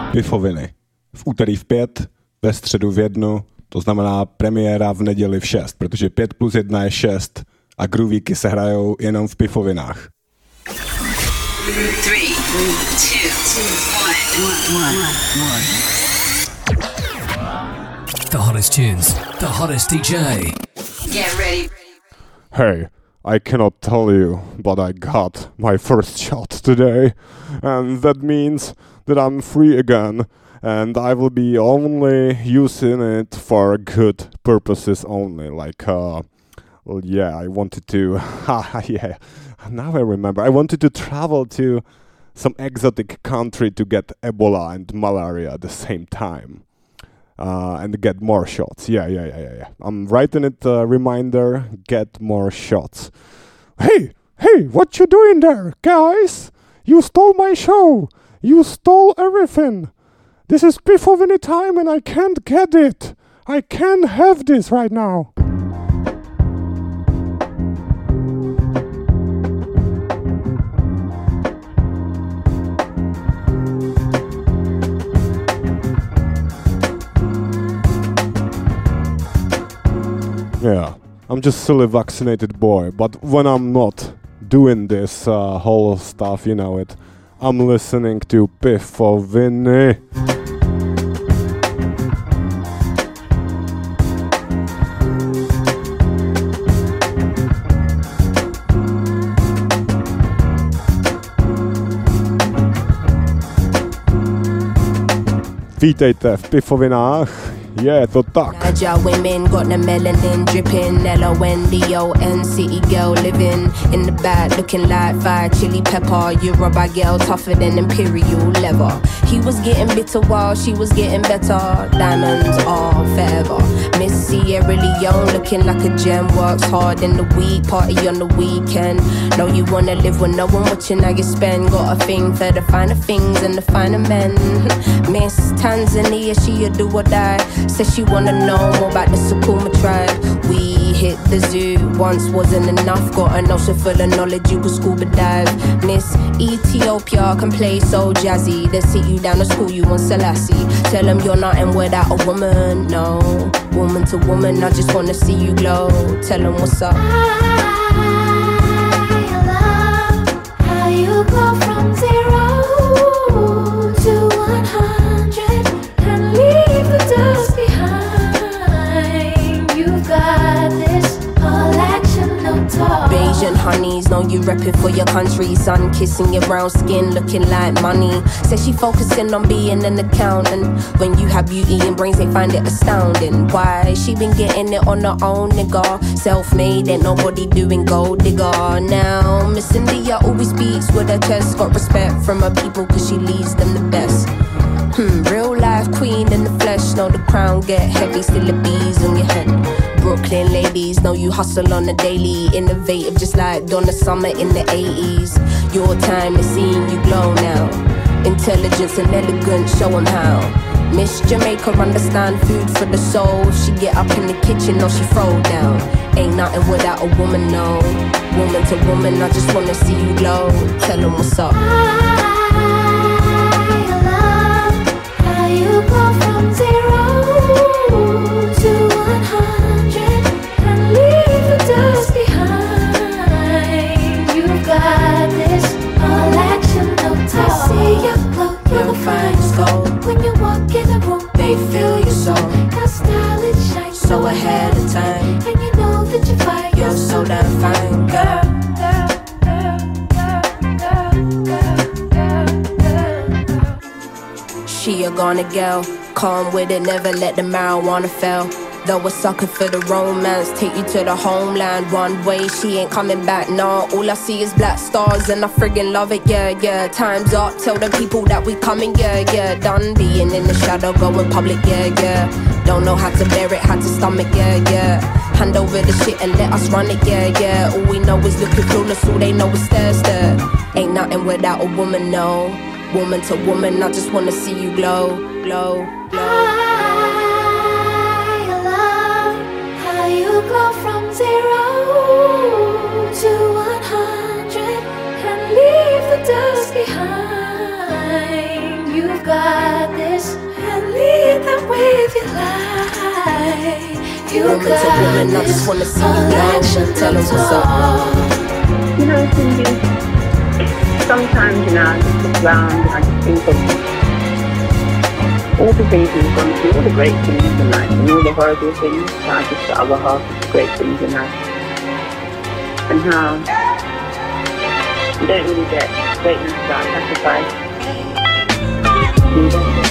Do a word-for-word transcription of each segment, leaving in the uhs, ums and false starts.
Pifoviny. V úterý v pět, ve středu v jednu, to znamená premiéra v neděli v šest, protože pět plus jedna je šest a groovíky se hrajou jenom v pifovinách. Three, two, one, one. The hottest tunes, the hottest D J. Get ready. Hey, I cannot tell you, but I got my first shot today, and that means that I'm free again, and I will be only using it for good purposes only, like, uh, well, yeah, I wanted to, yeah, now I remember, I wanted to travel to some exotic country to get Ebola and malaria at the same time. Uh, and get more shots. Yeah, yeah, yeah, yeah, yeah. I'm writing it a uh, reminder, get more shots. Hey, hey, what you doing there, guys? You stole my show. You stole everything. This is Pifoviny time and I can't get it. I can't have this right now. Yeah, I'm just silly vaccinated boy, but when I'm not doing this uh, whole stuff, you know it, I'm listening to Pifoviny. Vítejte v Pifovinách. Je to tak. Agile women got the melanin dripping. L O N D O N city girl living in the back looking like fire chili pepper. Yoruba girl tougher than imperial leather. He was getting bitter while she was getting better. Diamonds are forever. Miss Sierra Leone looking like a gem. Works hard in the week, party on the weekend. Know you wanna live when no one watching how you spend. Got a thing for the finer things and the finer men. Miss Tanzania, she a do or die. Says she wanna know more about the Sukuma tribe. We hit the zoo, once wasn't enough. Got an ocean full of knowledge, you could scuba dive. Miss Ethiopia can play so jazzy. They sit you down to school, you want Selassie. Tell them you're nothing without a woman, no. Woman to woman, I just wanna see you glow. Tell them what's up. I love how you go from zero to one hundred and leave the dust behind. You've got this all action, no talk. Bayesian honeys, know you repping for your country. Sun kissing your brown skin, looking like money. Says she focusing on being an accountant. When you have beauty and brains, they find it astounding. Why? She been getting it on her own, nigga. Self-made, ain't nobody doing gold digger. Now, Miss India always speaks with her chest. Got respect from her people cause she leads them the best. Hmm, real life queen in the flesh. Know the crown get heavy, still the bees on your head. Brooklyn ladies, know you hustle on the daily. Innovative just like Donna Summer in the eighties. Your time is seeing you glow now. Intelligence and elegance, show 'em how. Miss Jamaica understand food for the soul. She get up in the kitchen or she throw down. Ain't nothing without a woman, no. Woman to woman, I just wanna see you glow. Tell 'em what's up. You go from zero to one hundred and leave the dust behind. You've got this all action, no talk. I see you glow, you're the finest gold. When you walk in the room, They feel your soul, your style it shines so ahead of time. and you know that you fight. You're so damn fine, girl. She a gonna girl, calm with it, never let the marijuana fail. Though a sucker for the romance, take you to the homeland one way, she ain't coming back, nah. All I see is black stars and I friggin' love it, yeah, yeah. Time's up, tell the people that we coming, yeah, yeah. Done being in the shadow, going public, yeah, yeah. Don't know how to bear it, how to stomach, yeah, yeah. Hand over the shit and let us run it, yeah, yeah. All we know is looking clueless, all they know is stare, stare. Ain't nothing without a woman, no. Woman to woman, I just wanna see you glow, glow, glow. I love how you go from zero to one hundred and leave the dust behind. You've got this live your life. You Woman to woman, I just wanna see you now. Tell them what's up. You know, Cindy, sometimes, you know, I just look around and I just think of all the things we've gone through, all the great things in life, and all the horrible things, how just the other half of the great things in life. And how you don't really get greatness without sacrifice. You don't get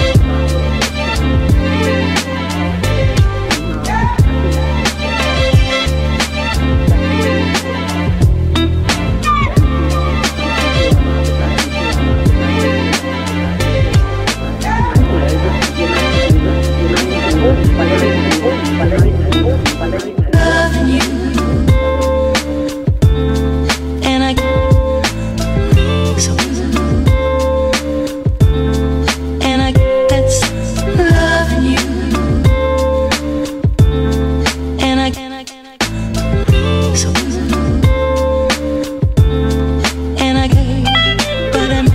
loving you, and I so and I that's loving you, and I so and I but I'm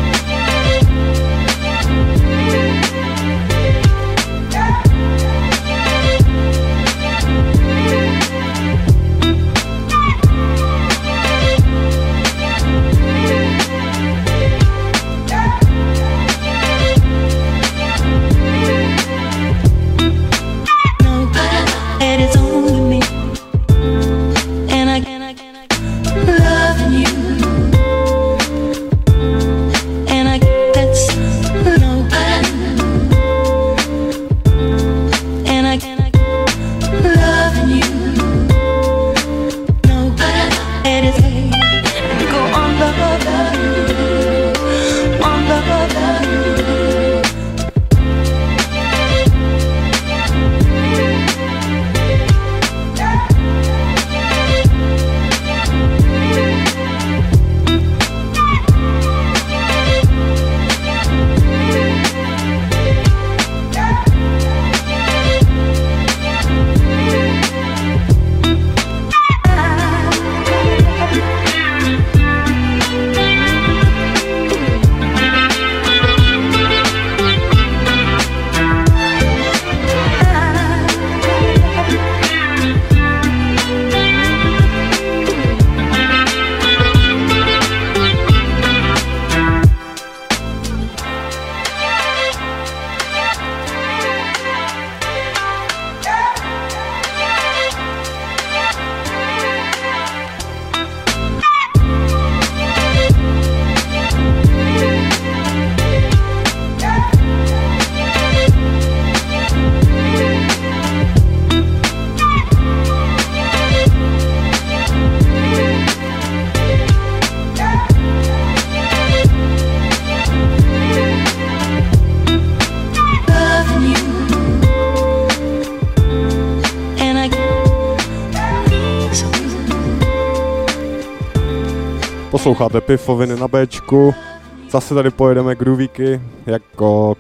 Posloucháte Pifoviny na Bčku, zase tady pojedeme groovíky, jako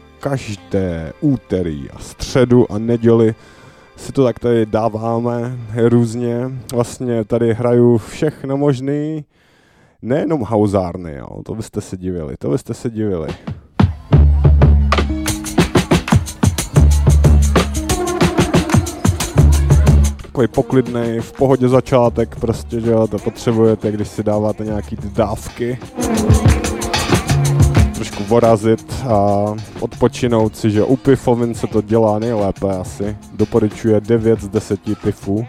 každé úterý a středu a neděli si to tak tady dáváme různě, vlastně tady hraju všechno možný, nejenom hauzárny, jo, to byste se divili, to byste se divili. Takový poklidnej, v pohodě začátek prostě, že jo, to potřebujete, když si dáváte nějaký ty dávky. Trošku vorazit a odpočinout si, že u pifovin se to dělá nejlépe asi. Doporučuje devět z deseti pifů.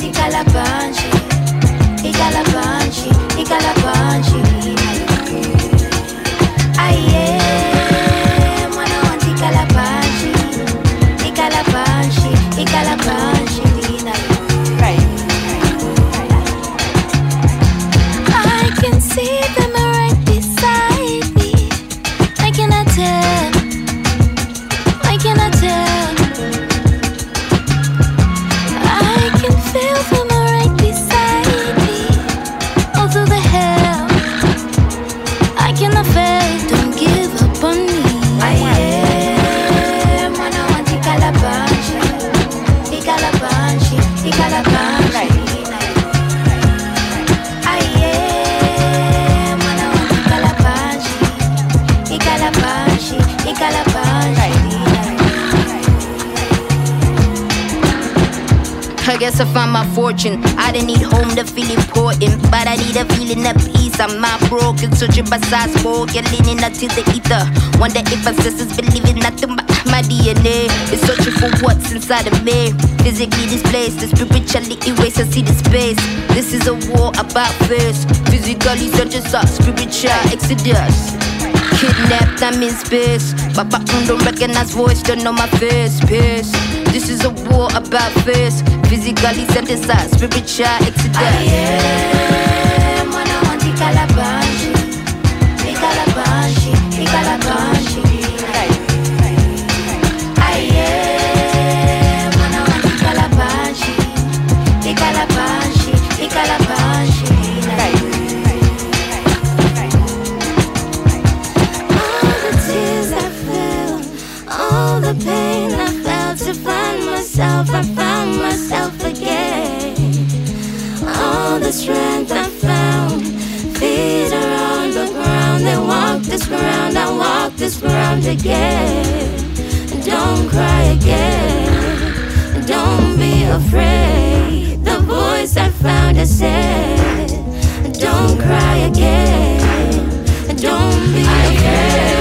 Ikalabanji, ikalabanji. guess I found my fortune. I didn't need home to feel important, but I need a feeling of peace. I'm not broken, searching by sides, spoken, leaning until the ether. Wonder if ancestors believe in nothing but my D N A is searching for what's inside of me. Physically displaced, the spiritually erased. I see the space. This is a war about face. Physically searching for spiritual exodus. Kidnapped, I'm in space. Papa mm, don't recognize voice, don't know my face. Pace. This is a war about face. Physically synthesized, spiritual exodus. I am when I want the calabanshi, the calabanshi, the calabanshi. I am when I want the calabanshi, the calabanshi, the calabanshi. All the pain I felt to find myself, I found myself again. All the strength I found, feet are on the ground. They walk this ground, I walk this ground again. Don't cry again, don't be afraid. The voice I found has said, don't cry again, don't be afraid.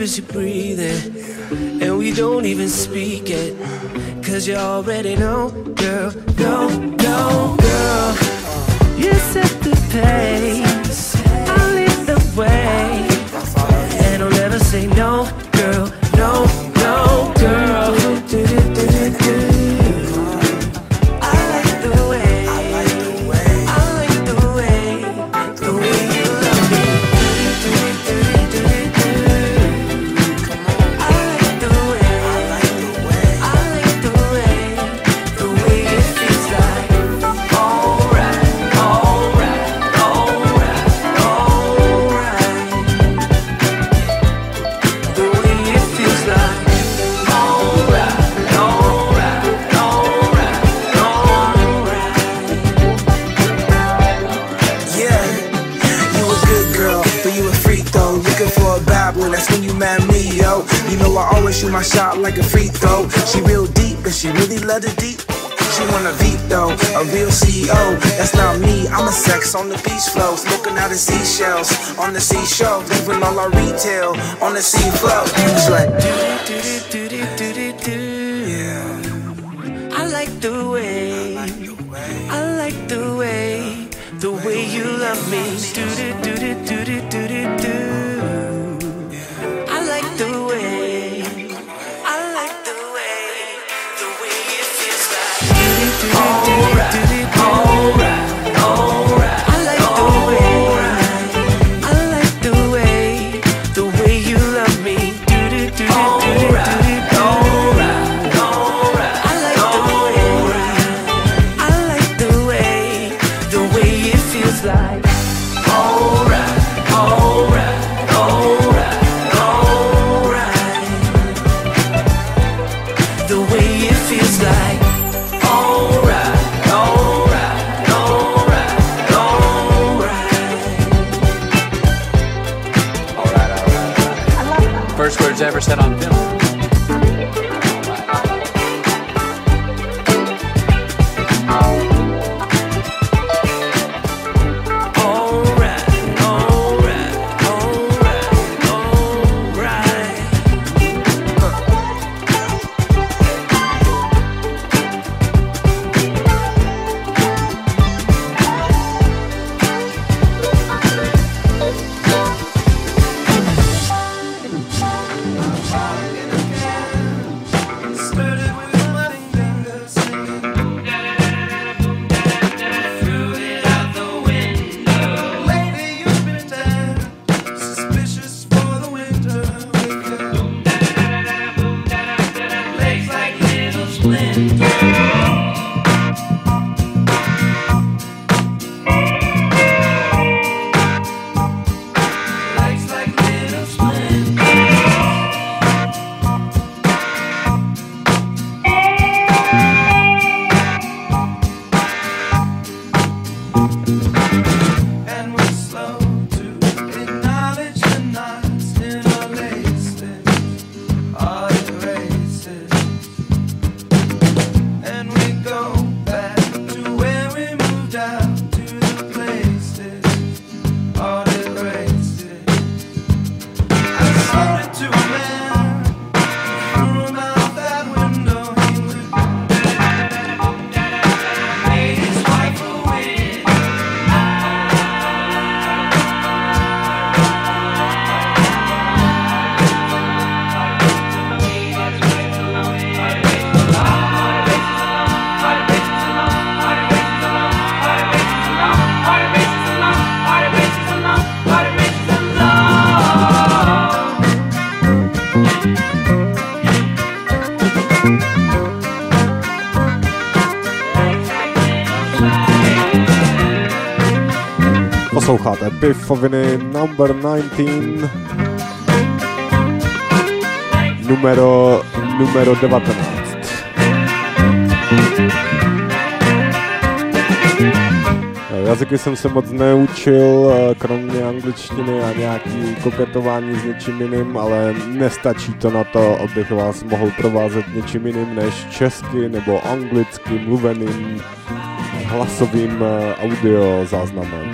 as you're breathing, and we don't even speak it, cause you already know, girl, no, no, girl. You set the pace, I'll lead the way, and I'll never say no, girl, no, no, girl. Shoot my shot like a free throw. She real deep, but she really love the deep. She want a V though, a real C E O. That's not me, I'm a sex on the beach flows, looking at the seashells on the seashore, leaving all our retail on the sea floor. It's like do do do do do do. Yeah. I like the way, I like the way, the way you love me. Do do do do do do do do. I like the way. Alright, alright, alright. I like the way, I like the way, the way you love me. Do do do do do do. Alright, alright. I like the way, I like the way, the way it feels like. Alright, alright, alright, alright. The way it feels like. First words ever said on film. Posloucháte Pifoviny number nineteen, numero, numero devatenáct. Jazyky jsem se moc neučil, kromě angličtiny a nějaký koketování s něčím jiným, ale nestačí to na to, abych vás mohl provázet něčím jiným než česky nebo anglicky mluveným hlasovým audio záznamem.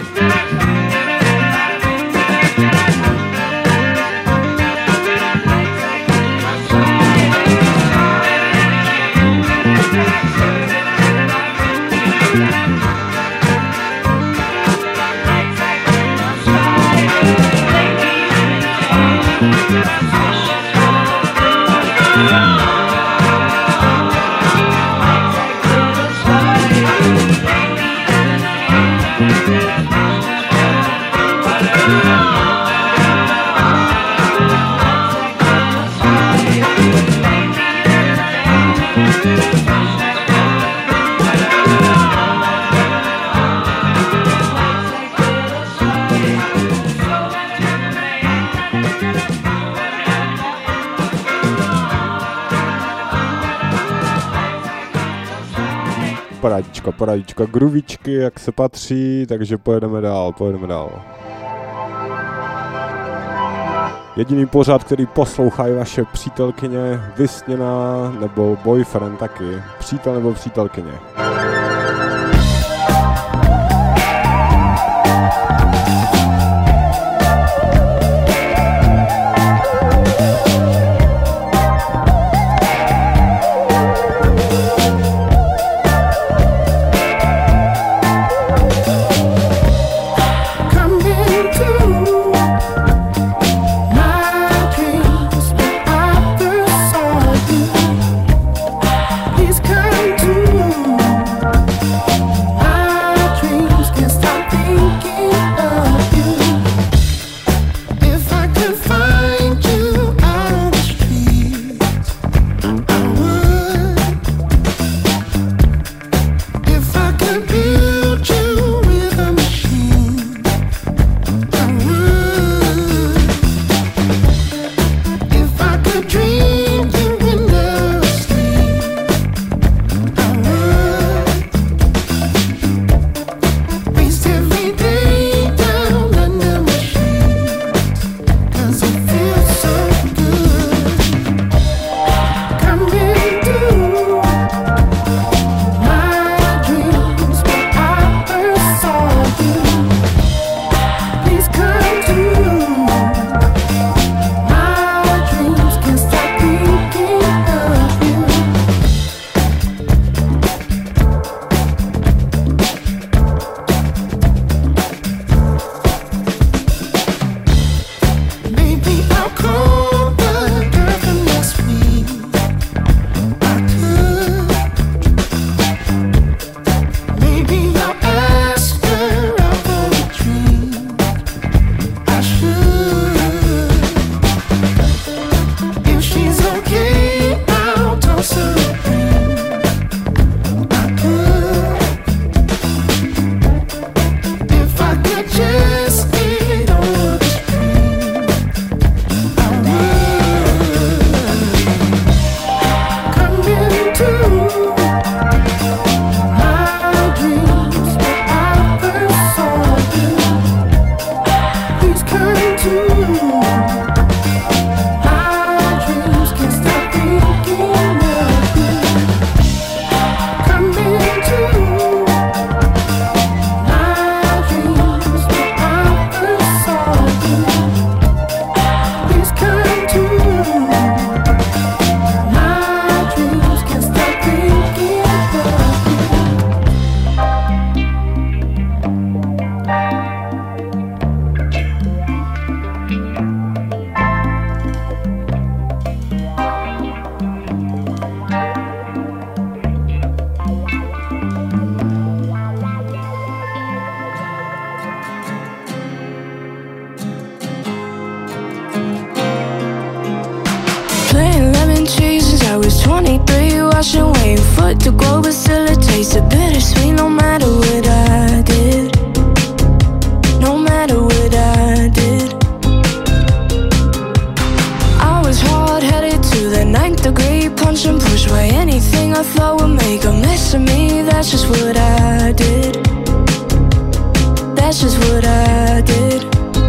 Parádička, parádička, gruvičky, jak se patří, takže pojedeme dál, pojedeme dál. Jediný pořad, který poslouchají vaše přítelkyně, vysněná nebo boyfriend taky, přítel nebo přítelkyně. twenty-three, washing away your foot to glow, but still it tasted bittersweet no matter what I did. No matter what I did. I was hard-headed to the ninth degree, punch and push away anything I thought would make a mess of me. That's just what I did. That's just what I did.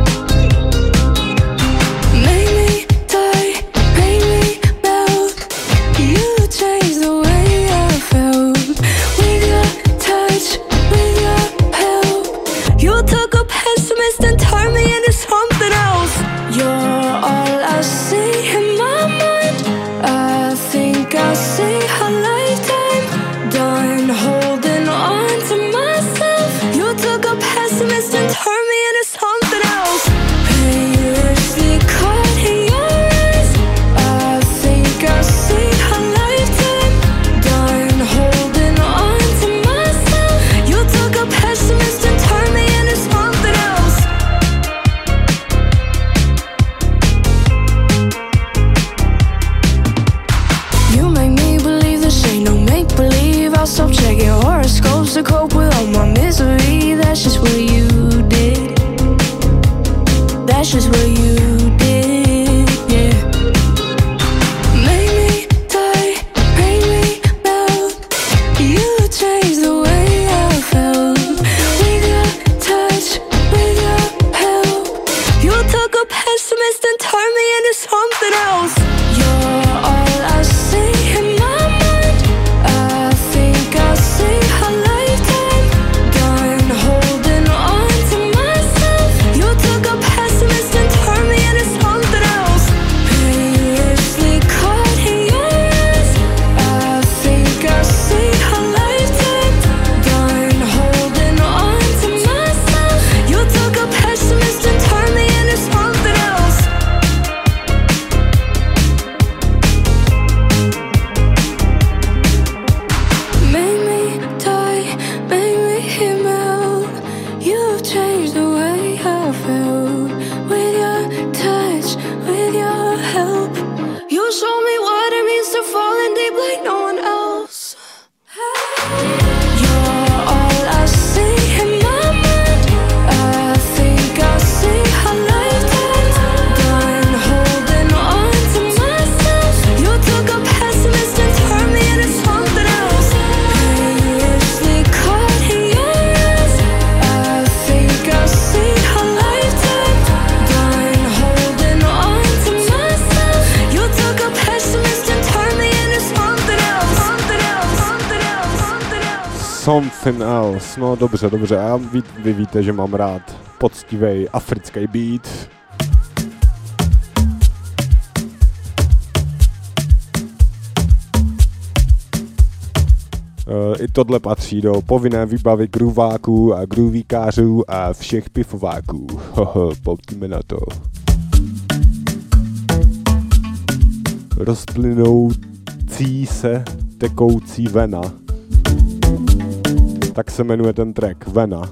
And turn me into something else. You're all I see in my mind. I think I'll see a lifetime done holding on to myself. You took a pessimist and turned me that's just what you did. That's just what you did, yeah. Make me die, make me melt. You changed the way I felt. With your touch, with your help. You took a pessimist and turned me into something else. You're all I see in my mind. I think I see a lifetime done holding on to myself. You took a pessimist and turned me into something else. Painlessly caught in your eyes. I think I see a lifetime done holding on to myself. You took a pessimist and turned me into something else. Make me die, make me melt. You've changed the way I felt. With your touch, with your help. You show me what it means to fall in deep like no one else. You're all I see in my mind. I think I see a lifetime done holding on to myself. You took a pessimist and turned me into something else. Painlessly caught in your eyes. I think I see a lifetime done holding on to myself. You took a pessimist and turned me into something else. Something else. Something else. Something else. Something else. No dobře, dobře. A vy, vy víte, že mám rád poctivý africký beat. I tohle patří do povinné výbavy groováků a groovíkářů a všech pifováků. Hoho, pojďme na to. Rozplynoucí se tekoucí vena. Tak se jmenuje ten track, Vena.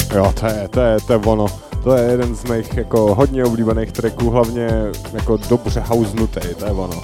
Jo, to je, to je, to je ono. To je jeden z mých jako hodně oblíbených tracků, hlavně jako dobře housenutý, to je ono.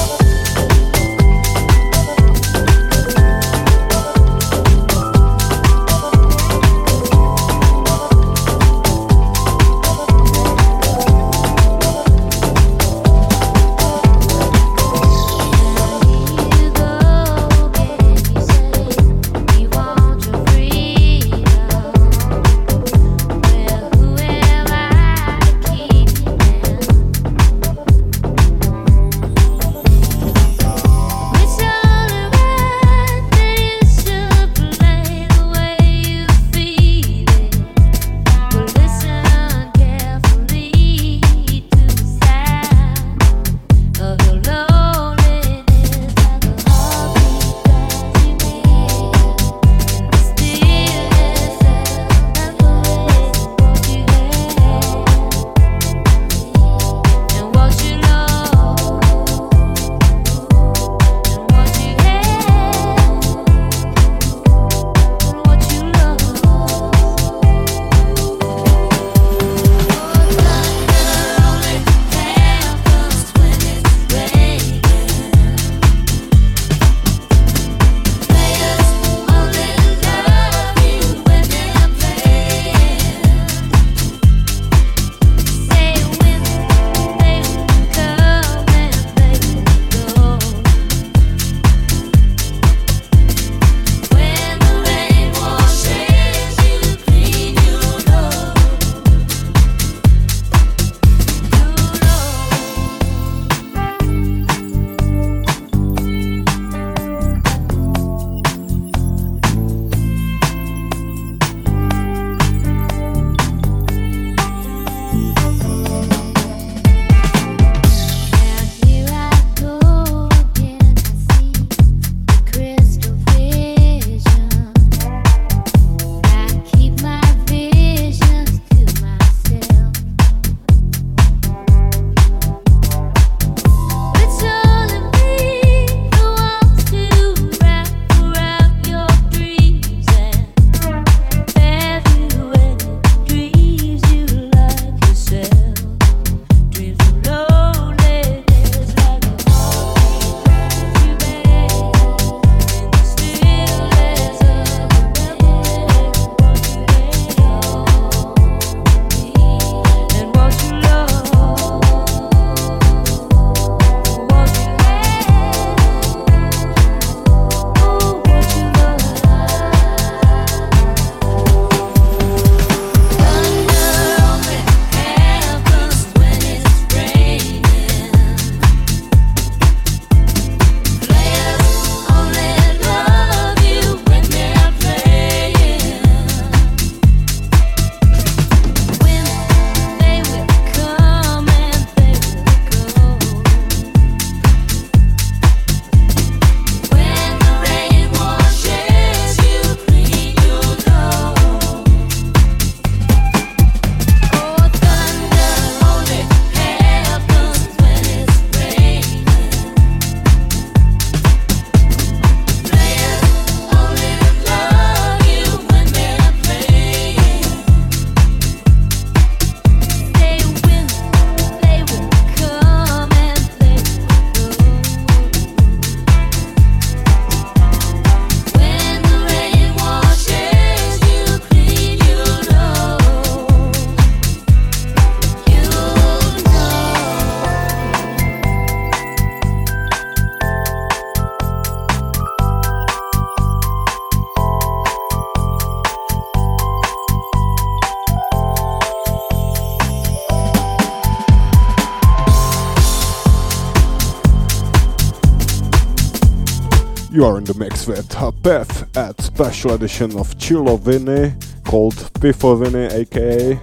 You are in the mix with Beth at special edition of Chillo Vinny called Piffo Vinny, aka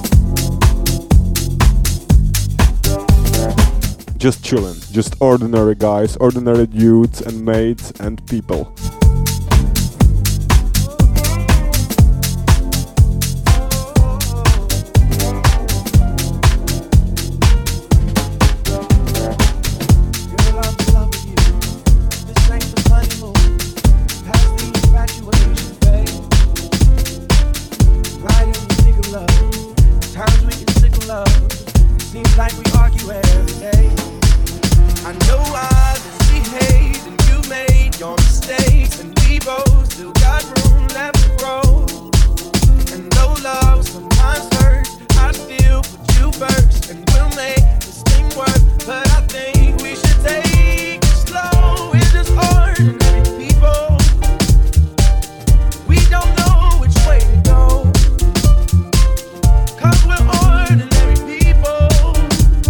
just chillin', just ordinary guys, ordinary dudes and mates and people. Right like we argue every day. I know I misbehaved and you made your mistakes, and we both still got room left to grow. And though love sometimes hurts, I still put you first, and we'll make this thing work. But I think we should take it slow. We're just ordinary people. We don't know which way to go, 'cause we're ordinary people.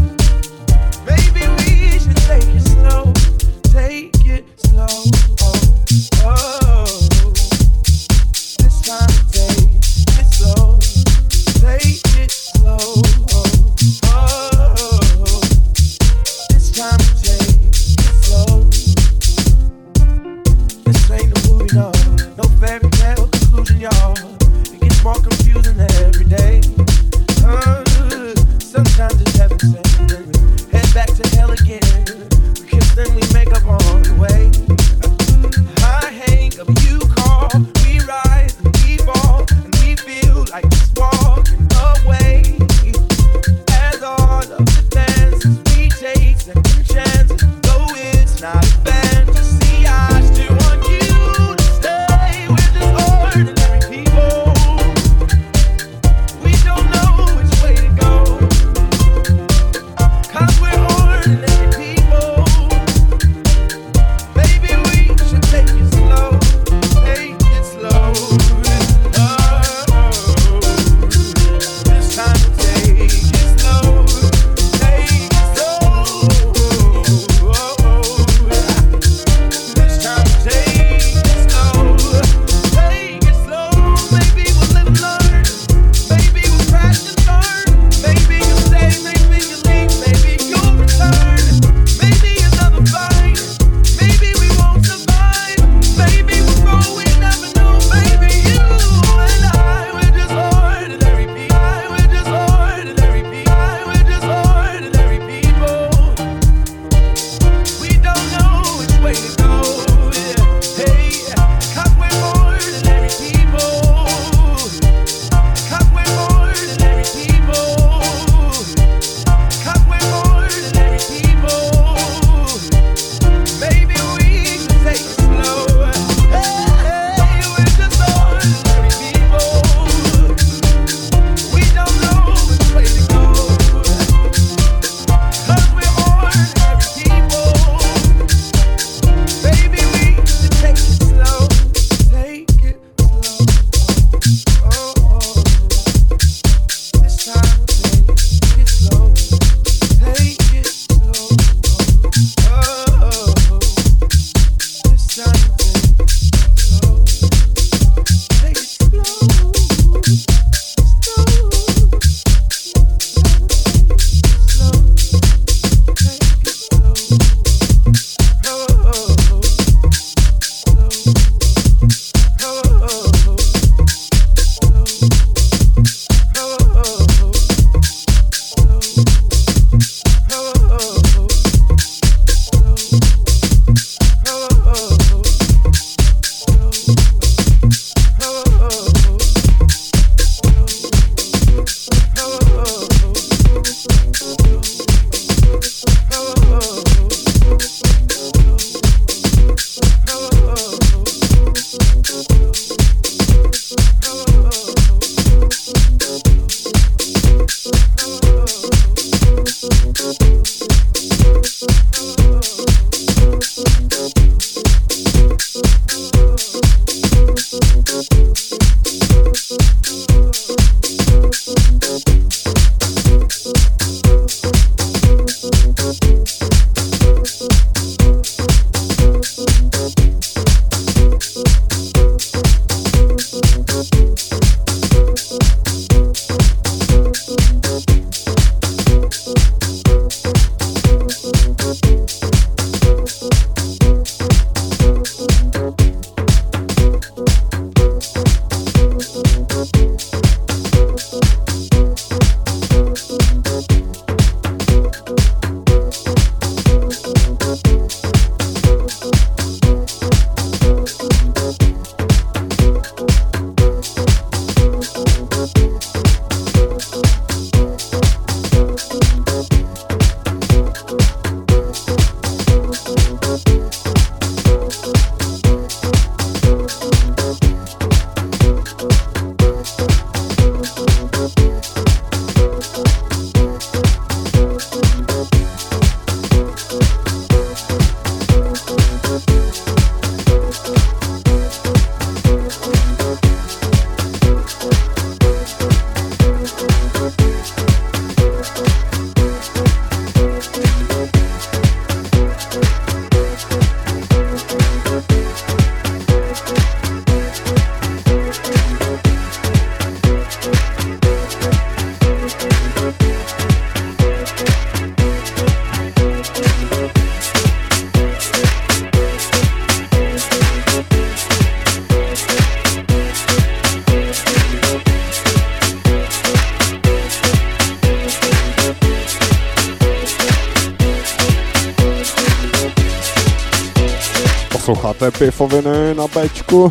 Posloucháte Pifoviny na Bčku.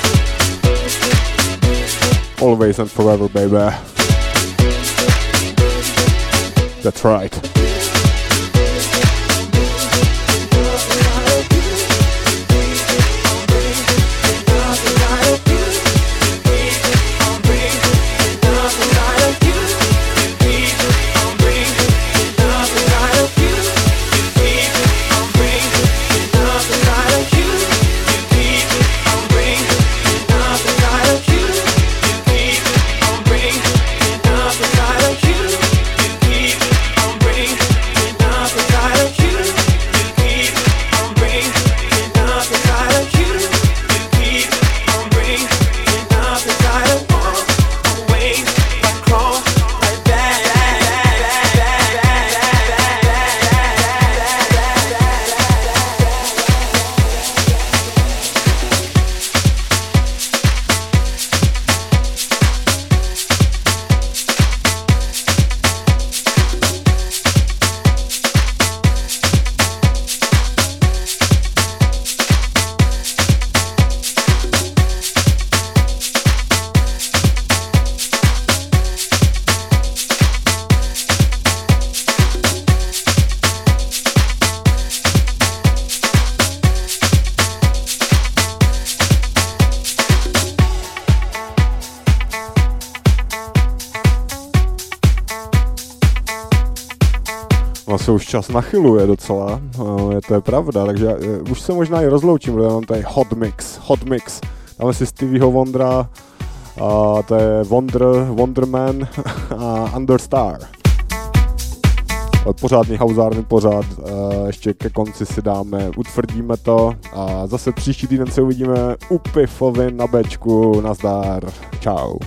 Always and forever, baby. That's right. Se už čas nachyluje docela, je to je pravda, takže uh, už se možná i rozloučím, protože mám tady Hot Mix, Hot Mix, dáme si Stevieho Wondera, uh, to je Wonder, Wonderman a Understar. Pořádný hauzárny pořád, uh, ještě ke konci si dáme, utvrdíme to a zase příští týden se uvidíme u Pifovin na Bčku, nazdar, čau.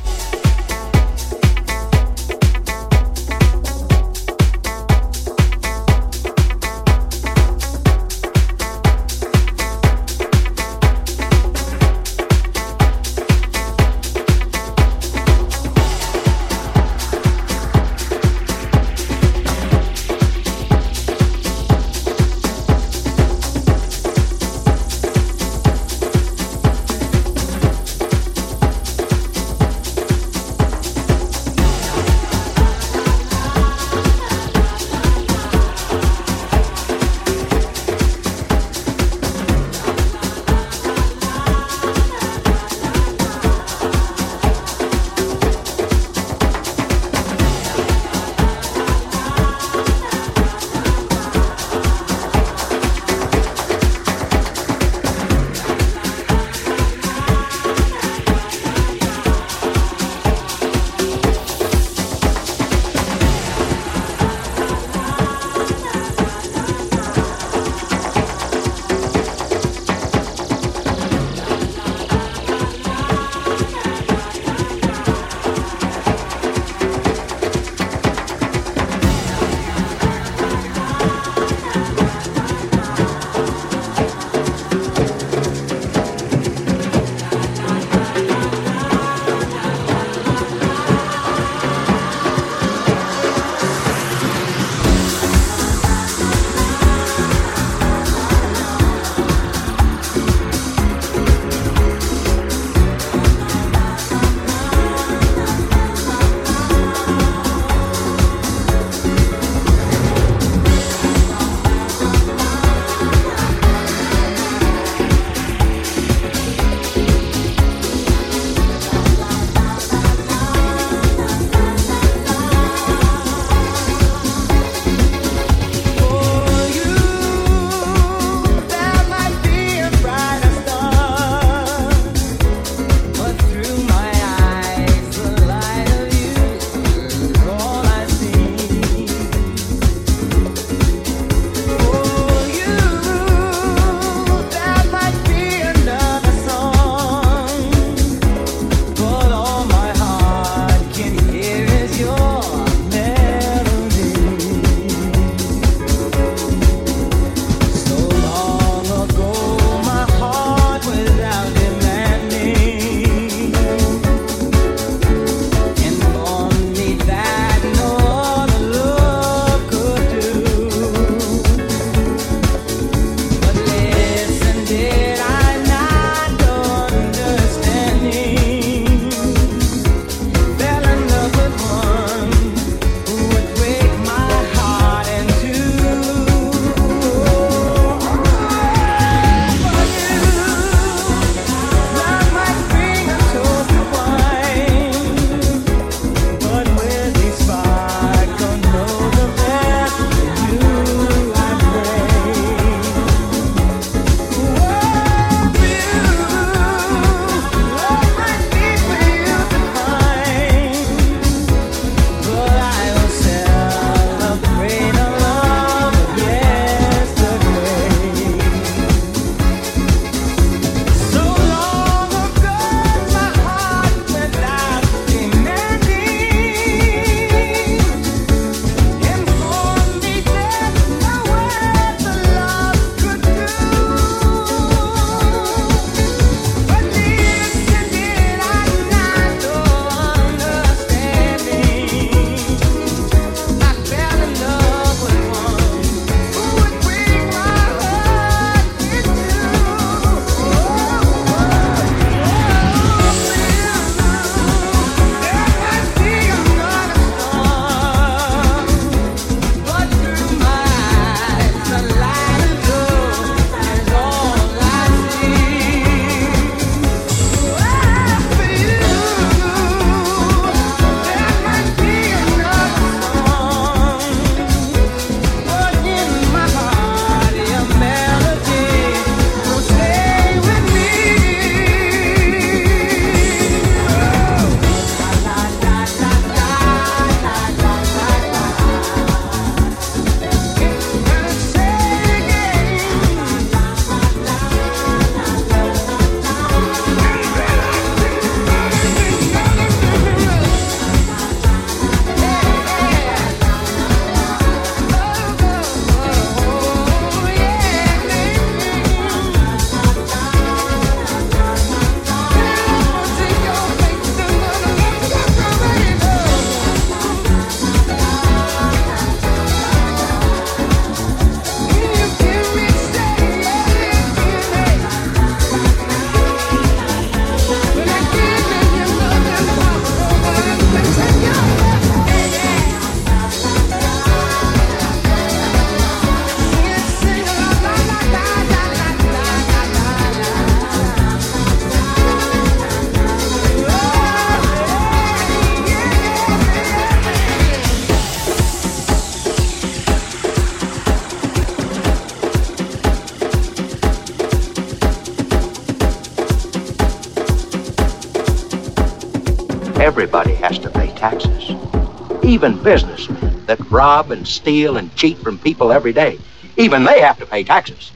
Everybody has to pay taxes. Even businessmen that rob and steal and cheat from people every day, even they have to pay taxes.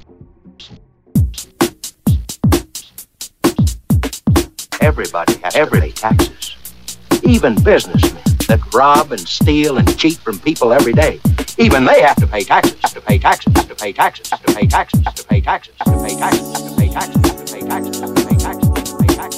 Everybody has to pay taxes. Even businessmen that rob and steal and cheat from people every day, even they have to pay taxes. Have to pay taxes. Have to pay taxes. Have to pay taxes. Have to pay taxes. Have to pay taxes. Have to pay taxes. Have to pay taxes. Have to pay taxes. Have to pay taxes.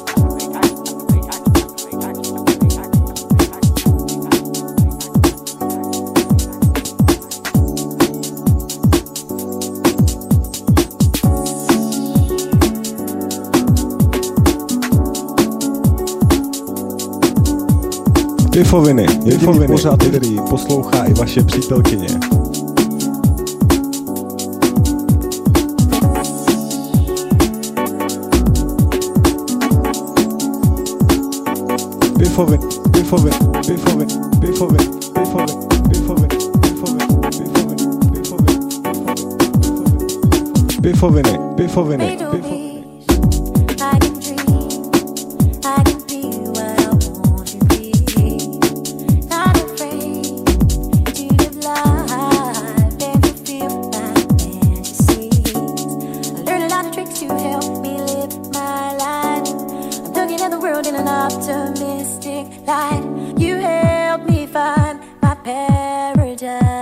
Pifoviny, jediný pořád, který poslouchá i vaše přítelkyně. Pifoviny, pifoviny, pifoviny, pifoviny, pifoviny, pifoviny, pifoviny, pifoviny, pifoviny, pifoviny, pifoviny. Optimistic light, you help me find my paradise.